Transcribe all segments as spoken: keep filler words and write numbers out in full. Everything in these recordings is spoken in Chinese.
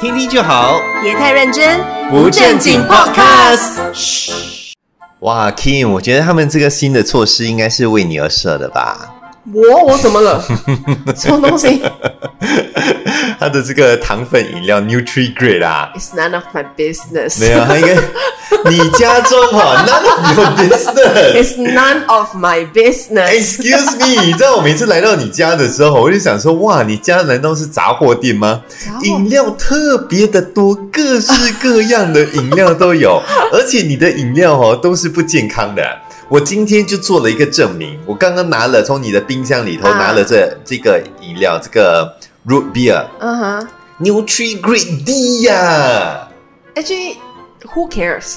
听听就好， 别太认真， 不正经 Podcast。嘘，哇 ，Kim， 我觉得他们这个新的措施应该是为你而设的吧？ 我我怎么了？什么东西？ 他的这个糖分饮料 Nutri-Grade 啊 ，It's none of my business。 没有，他应该你家中哈 ，none of your business。It's none of my business。Excuse me， 你知道我每次来到你家的时候，我就想说，哇，你家难道是杂货店吗？饮料特别的多，各式各样的饮料都有，而且你的饮料哦都是不健康的。我今天就做了一个证明，我刚刚拿了从你的冰箱里头拿了这、uh. 这个饮料，这个 root beer， 嗯哼 ，Nutri-Grade D 呀、啊。 Actually, who cares？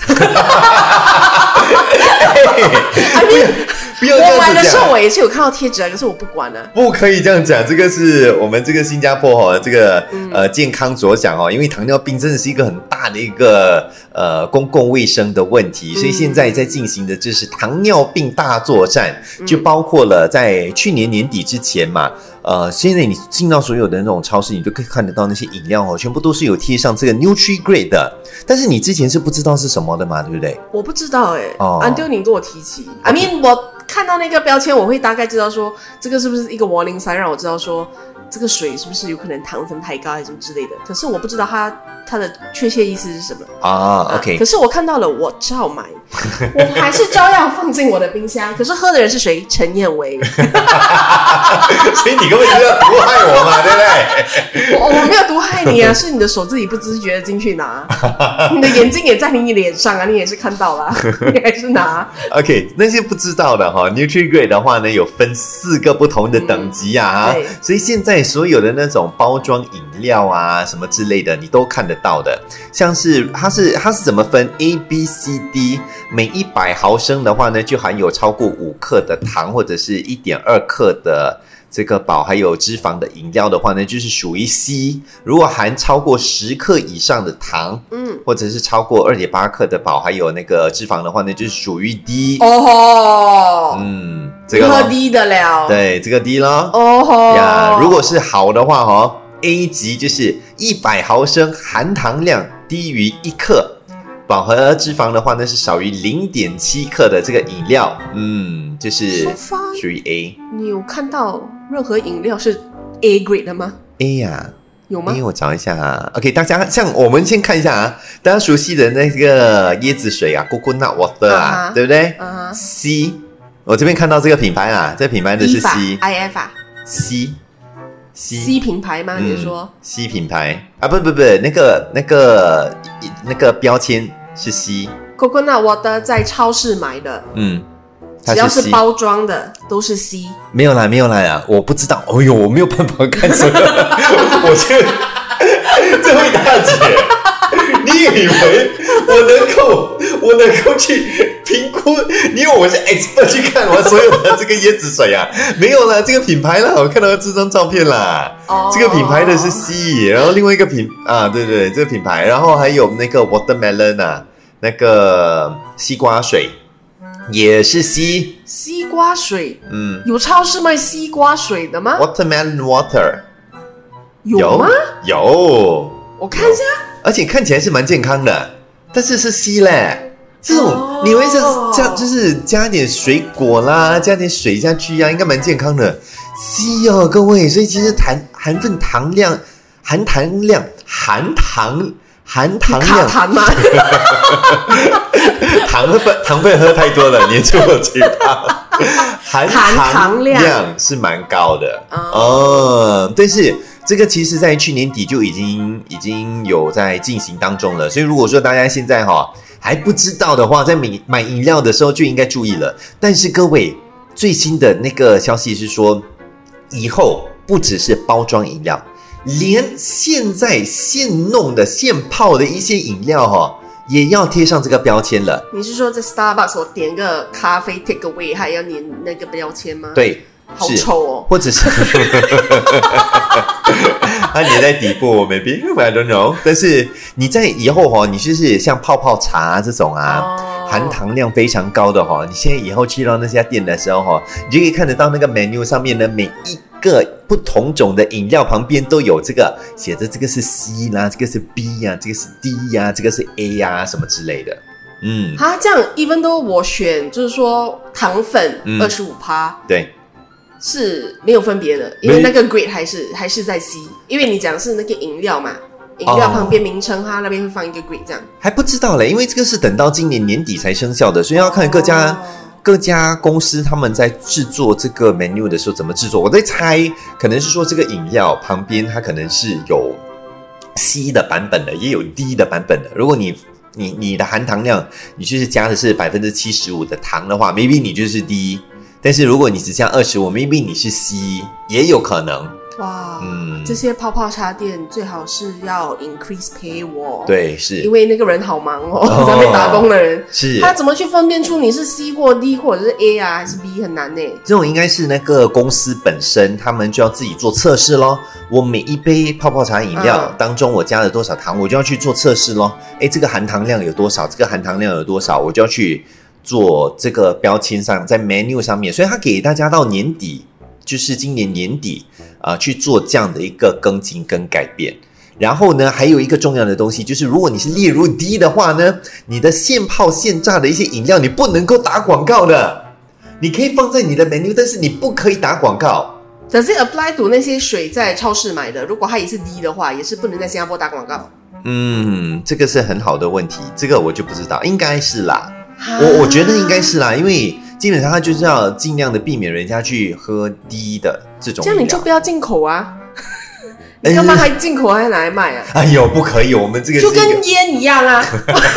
I mean, 不要这样子讲。 我买的时候我也是有看到贴纸啊，可是我不管了、啊。 不可以这样讲，这个是我们这个新加坡哈、哦，这个、嗯、呃健康着想哦，因为糖尿病真的是一个很大的一个呃公共卫生的问题，所以现在在进行的就是糖尿病大作战，嗯、就包括了在去年年底之前嘛。呃，现在你进到所有的那种超市，你都可以看得到那些饮料哦，全部都是有贴上这个 Nutri-Grade 的。但是你之前是不知道是什么的嘛，对不对？ 我不知道哎、欸， 哦， 安丢你跟我提起。I mean， 我看到那个标签，我会大概知道说，这个是不是一个 warning sign， 让我知道说这个水是不是有可能糖分太高还是什么之类的。可是我不知道它它的确切意思是什么啊。OK， 可是我看到了，我照买，我还是照样放进我的冰箱。可是喝的人是谁？陈彦维。 所以你根本就要毒害我嘛，对不对？ 我我没有毒害你啊，是你的手自己不自觉的进去拿，你的眼睛也在你脸上啊，你也是看到啦，你还是拿。 OK， 那些不知道的哈 ，Nutri-Grade 的话呢，有分四个不同的等级啊，嗯、所以现在所有的那种包装饮料啊什么之类的，你都看得到的。像是它是它是怎么分 A、B、C、D， 每一百毫升的话呢，就含有超过五克的糖或者是 一点二克的。这个饱还有脂肪的饮料的话呢，就是属于 C。如果含超过十克以上的糖，嗯，或者是超过 二点八克的饱还有那个脂肪的话呢，就是属于 D。 哦吼， 嗯，这个喝 D 的了， 对，这个 D 咯。 哦吼呀，如果是好的话哈 ，A 级就是一百毫升含糖量低于一克。饱和脂肪的话呢是少于 零点七克的这个饮料，嗯，就是属于 A。 你有看到任何饮料是 A grade 的吗 ？A 呀、啊， 有吗？ 因为我找一下啊。OK， 大家像我们先看一下啊，大家熟悉的那个椰子水啊 ，Coconut Water 啊， uh-huh, 对不对、uh-huh. ？C， 我这边看到这个品牌啊，这个品牌的是 C，I F 啊 ，C。 C, C 品牌吗？你是说、嗯、 C 品牌啊？不不不，那个那个那个标签是 C。Coconut Water 在超市买的， 嗯， 只要是包装的都是 C。 没有啦，没有啦，我不知道。哦呦，我没有办法看这个。我这这位大姐，你以为我能够我能够去？评估，因为我是 expert 去看完所有的这个椰子水啊，没有啦，这个品牌啦，我看到这张照片啦，哦、这个品牌的是 C， 然后另外一个品啊，对对，这个品牌，然后还有那个 watermelon 啊，那个西瓜水也是 C， 西瓜水， 嗯， 有超市卖西瓜水的吗 ？Watermelon water 有吗？ 有， 我看一下， 而且看起来是蛮健康的，但是是 C 嘞。这种、oh. 你会加就是加点水果啦，加点水下去啊，应该蛮健康的。C 哦，各位，所以其实含含分糖量、含糖量、含糖、含糖量， 卡痰吗？ 糖分糖分喝太多了，黏住我嘴巴。含糖量是蛮高的哦、嗯，但是。这个其实在去年底就已经已经有在进行当中了，所以如果说大家现在哈还不知道的话，在买买饮料的时候就应该注意了。但是各位，最新的那个消息是说，以后不只是包装饮料，连现在现弄的现泡的一些饮料哈，也要贴上这个标签了。 你是说在 Starbucks 我点个咖啡 take away 还要粘那个标签吗？ 对。 好丑哦， 或者是它粘在底部 ，maybe I don't know。但是你在以后哈，你就是像泡泡茶这种啊，哦、 含糖量非常高的哈、哦。你现在以后去到那家店的时候哈，你就可以看得到那个 menu 上面呢，每一个不同种的饮料旁边都有这个写着，这个是 C 啦，这个是 B 呀、啊，这个是 D 呀、啊，这个是 A 呀、啊，什么之类的。嗯， 啊，这样 even though 我选就是说糖粉二十五趴， 对。 是没有分别的，因为那个 grade 还是还是在 C， 因为你讲是那个饮料嘛，饮料旁边名称，它那边会放一个 grade 这样。 还不知道嘞，因为这个是等到今年年底才生效的，所以要看各家、哦、各家公司他们在制作这个 menu 的时候怎么制作。我在猜，可能是说这个饮料旁边它可能是有 C 的版本的，也有 D 的版本的。如果你你你的含糖量，你就是加的是百分之七十五的糖的话 ，maybe 你就是 D。但是如果你只加二十五 maybe 你是 C 也有可能。 哇，嗯，这些泡泡茶店最好是要 increase pay wall。 对，是因为那个人好忙哦，在那边打工的人， 是他怎么去分辨出你是 C 或 D 或者是 A 啊还是 B 很难呢？ 这种应该是那个公司本身他们就要自己做测试咯。我每一杯泡泡茶饮料当中我加了多少糖，我就要去做测试咯。诶，这个含糖量有多少，这个含糖量有多少，我就要去做这个标签上，在 menu 上面，所以他给大家到年底，就是今年年底啊、呃，去做这样的一个更新跟改变。然后呢，还有一个重要的东西，就是如果你是列入 D 的话呢，你的现泡现榨的一些饮料，你不能够打广告的。你可以放在你的 menu， 但是你不可以打广告。 可是 apply to 那些水在超市买的，如果它也是 D 的话，也是不能在新加坡打广告。 嗯，这个是很好的问题，这个我就不知道，应该是啦。我我觉得应该是啦，因为基本上他就是要尽量的避免人家去喝低的这种饮料。 这样你就不要进口啊！你干嘛还进口还拿来卖啊？ 哎呦，不可以，我们这个就跟烟一样啊，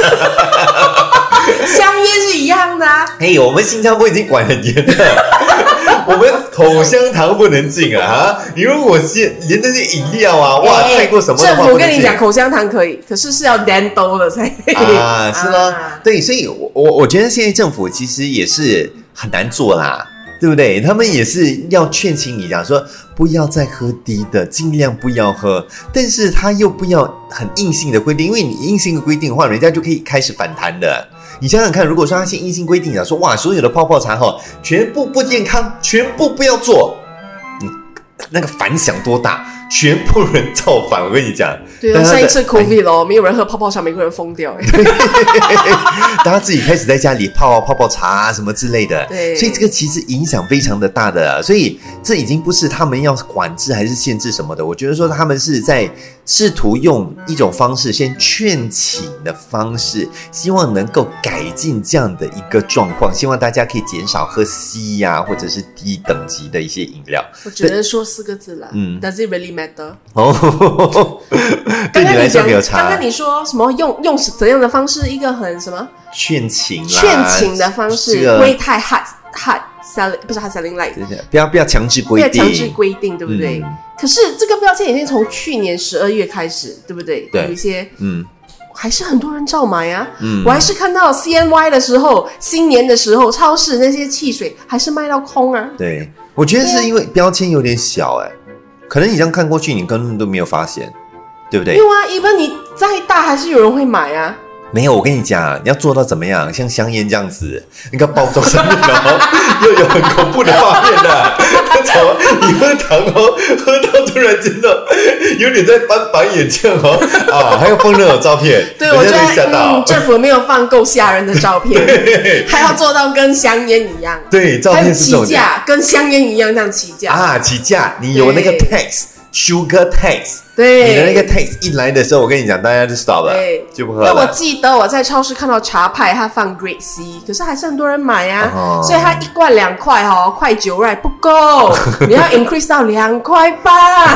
香烟是一样的啊。 哎，我们新加坡已经管很严了，我们口香糖不能进啊！啊你如果是连那些饮料啊，哇，太过什么的话， 政府跟你讲口香糖可以，可是是要 dental 的才可以啊，是咯、啊，对，所以我我我觉得现在政府其实也是很难做啦。对不对？他们也是要劝请你讲说不要再喝低的，尽量不要喝，但是他又不要很硬性的规定，因为你硬性的规定的话，人家就可以开始反弹的。你想想看，如果说他先硬性规定讲说哇，所有的泡泡茶哈，全部不健康，全部不要做，你那个反响多大？全部人造反，我跟你讲。 对啊，上一次 COVID 哦，没有人喝泡泡茶，每个人疯掉哎。 大家自己开始在家里泡泡泡茶啊什么之类的， 对， 所以这个其实影响非常的大的、啊，所以这已经不是他们要管制还是限制什么的，我觉得说他们是在试图用一种方式，先劝请的方式，希望能够改进这样的一个状况，希望大家可以减少喝 C 呀、啊、或者是低等级的一些饮料。 我只能说四个字啦，嗯 ，Does it really matter？ 哦，对你来说没有差。 刚刚你说什么用用怎样的方式？一个很什么劝请啦， 劝请的方式，这个、不会太 hard hard selling， 不是 hard selling like， 不要不要强制规定， 不要强制规定，对不对？嗯、可是这个标签已经从去年十二月开始，对不对？ 对， 有一些嗯。 还是很多人照买啊、嗯！我还是看到 C N Y 的时候，新年的时候，超市那些汽水还是卖到空啊。 对，我觉得是因为标签有点小哎、欸，可能你这样看过去，你根本都没有发现，对不对？ 没有啊，一般你再大还是有人会买啊。 没有，我跟你讲，你要做到怎么样？像香烟这样子，那个包装上面哦，又有很恐怖的画面的，那种你喝糖哦，喝到突然间的有点在翻白眼这样哦，啊，还要放那种照片， 对，我觉得嗯，政府没有放够吓人的照片，还要做到跟香烟一样， 对，照片是这种起价，跟香烟一样这样起价啊，起价，你有那个 tax。Sugar tax， 对， 你的那个 tax 一来的时候，我跟你讲，大家就 stop 了，就不喝了。 那我记得我在超市看到茶派，它放 Grade C， 可是还是很多人买啊，哦、所以它一罐两块哦，块九 right 不够，你要 increase 到两块八。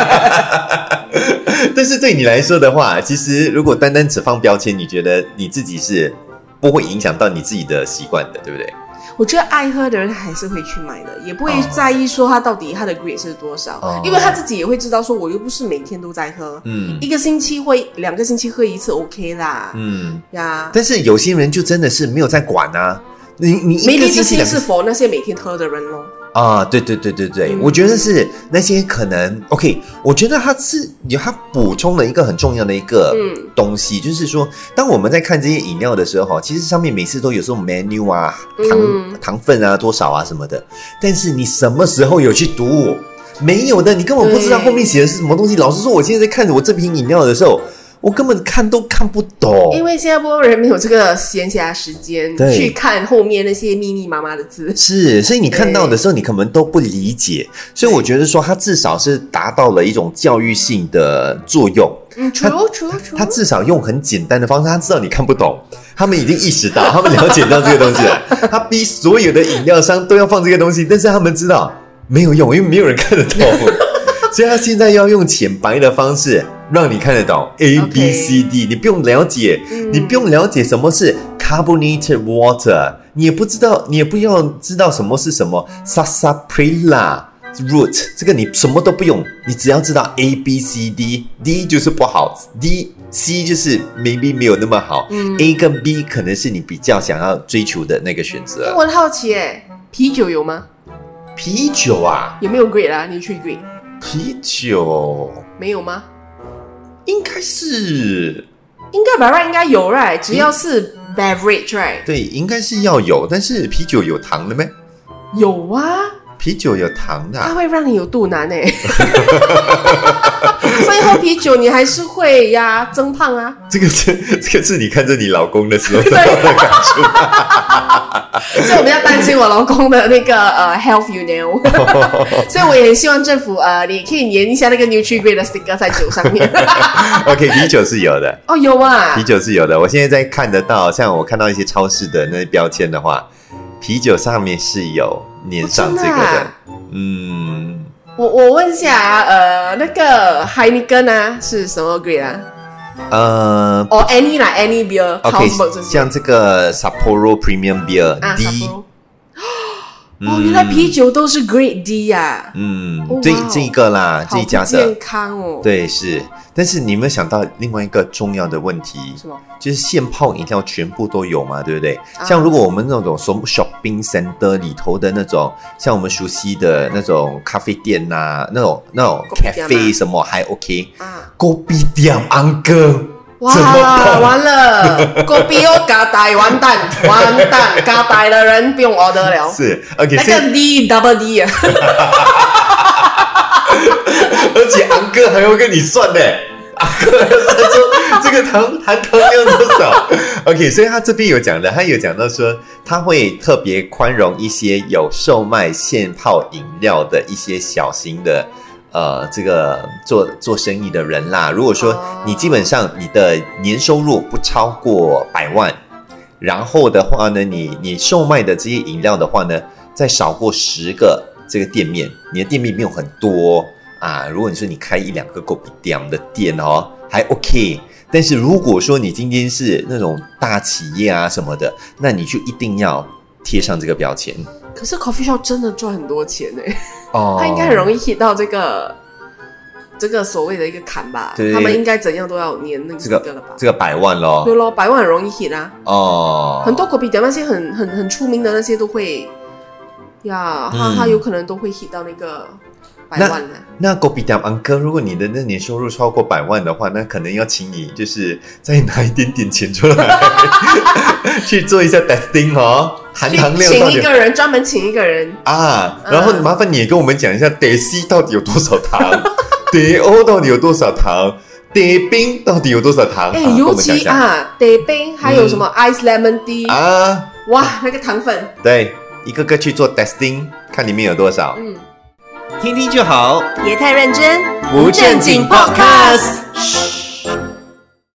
但是对你来说的话，其实如果单单只放标签，你觉得你自己是不会影响到你自己的习惯的，对不对？ 我觉得爱喝的人还是会去买的，也不会在意说他到底他的 grade 是多少、哦、因为他自己也会知道说我又不是每天都在喝，嗯，一个星期会两个星期喝一次 OK 啦， 嗯呀。 但是有些人就真的是没有在管啊，你你一个星期 maybe 这些是 for 那些每天喝的人咯。 啊，对对对对对，嗯、我觉得是那些可能 OK， 我觉得它是它补充了一个很重要的一个东西，嗯、就是说，当我们在看这些饮料的时候，其实上面每次都有这种 menu 啊，糖、嗯、糖分啊多少啊什么的，但是你什么时候有去读？没有的，你根本不知道后面写的是什么东西。老实说，我现在在看着我这瓶饮料的时候。我根本看都看不懂， 因为新加坡人没有这个闲暇时间去看后面那些密密麻麻的字， 是，所以你看到的时候，你可能都不理解。所以我觉得说，它至少是达到了一种教育性的作用。 嗯，除除除， 他至少用很简单的方式，他知道你看不懂，他们已经意识到，他们了解到这个东西了。他逼所有的饮料商都要放这个东西，但是他们知道没有用，因为没有人看得懂。所以他现在要用浅白的方式让你看得懂 A B C D， 你不用了解、嗯、你不用了解什么是 carbonated water， 你也不知道，你也不要知道什么是什么 sarsaparilla root， 这个你什么都不用，你只要知道 A B C D， D 就是不好， D C 就是 maybe 没有那么好、嗯、A 跟 B 可能是你比较想要追求的那个选择。 我很好奇耶，啤酒有吗？ 啤酒啊， 有没有 grade 啊？你去 grade 啤酒没有吗？ 应该是， 应该吧 right 应该有 right， 只要是 beverage right。 对，应该是要有，但是啤酒有糖的没？ 有啊， 啤酒有糖的、啊， 它会让你有肚腩哎。所以喝啤酒你还是会呀增胖啊。这个是这个是你看着你老公的时候得到的感触。 所以我比较担心我老公的那个呃 health you know， 所以我也很希望政府呃你可以粘一下那个 Nutri-Grade 的 sticker 在酒上面。 OK， 啤酒是有的。 哦，有啊， 啤酒是有的。我现在在看得到，像我看到一些超市的那些标签的话，啤酒上面是有粘上这个的。哦的啊、嗯， 我我问一下，呃，那个 Heineken 啊是什么 grade 啊？呃，哦、oh, ，any 啦 ，any beer， OK， 像这个 Sapporo Premium Beer、啊、D， 哦，原来啤酒都是 Grade D 呀、啊， 嗯，哦、这这一个啦，这一家的健康哦， 对，是，但是你有没有想到另外一个重要的问题？ 什么？ 就是现泡饮料全部都有嘛，对不对？啊、像如果我们那种 shopping center 里头的那种，像我们熟悉的那种咖啡店呐、啊，那种那种 cafe 什么还 OK， 啊，咖啡店安哥。 哇，完了，狗比又嘎呆，完蛋，完蛋，嘎呆的人不用 order 了。 是 ，OK， 那个 D double D 啊， 而且昂哥还要跟你算呢，昂哥还要算说这个糖含糖量多少。OK， 所以他这边有讲的，他有讲到说他会特别宽容一些有售卖现泡饮料的一些小型的。呃，这个做做生意的人啦，如果说你基本上你的年收入不超过百万，然后的话呢，你你售卖的这些饮料的话呢，再少过十个这个店面，你的店面没有很多啊。如果你说你开一两个狗比店的店哦，还 OK。但是如果说你今天是那种大企业啊什么的，那你就一定要贴上这个标签。 可是 coffee shop 真的赚很多钱哎、欸，哦，他应该很容易 hit 到这个这个所谓的一个坎吧？对，他们应该怎样都要粘那个这个了吧？ 这个百万咯， 对咯，百万很容易 hit 啊。哦，很多 coffee 店那些很很很出名的那些都会呀，他、嗯、他有可能都会 hit 到那个。百万了。 那 Kopitiam Uncle， 如果你的那年收入超过百万的话，那可能要请你就是再拿一点点钱出来去做一下 testing 哦，含糖量请一个人，专门请一个人啊。然后麻烦你也跟我们讲一下 D C 到底有多少糖，D O 到底有多少糖，D 冰到底有多少糖？ 哎、欸，尤其啊 ，D 冰还有什么 Ice Lemon Tea、嗯、啊，哇，那个糖分， 对，一个个去做 testing， 看里面有多少。嗯。听听就好， 别太认真， 不正经 podcast。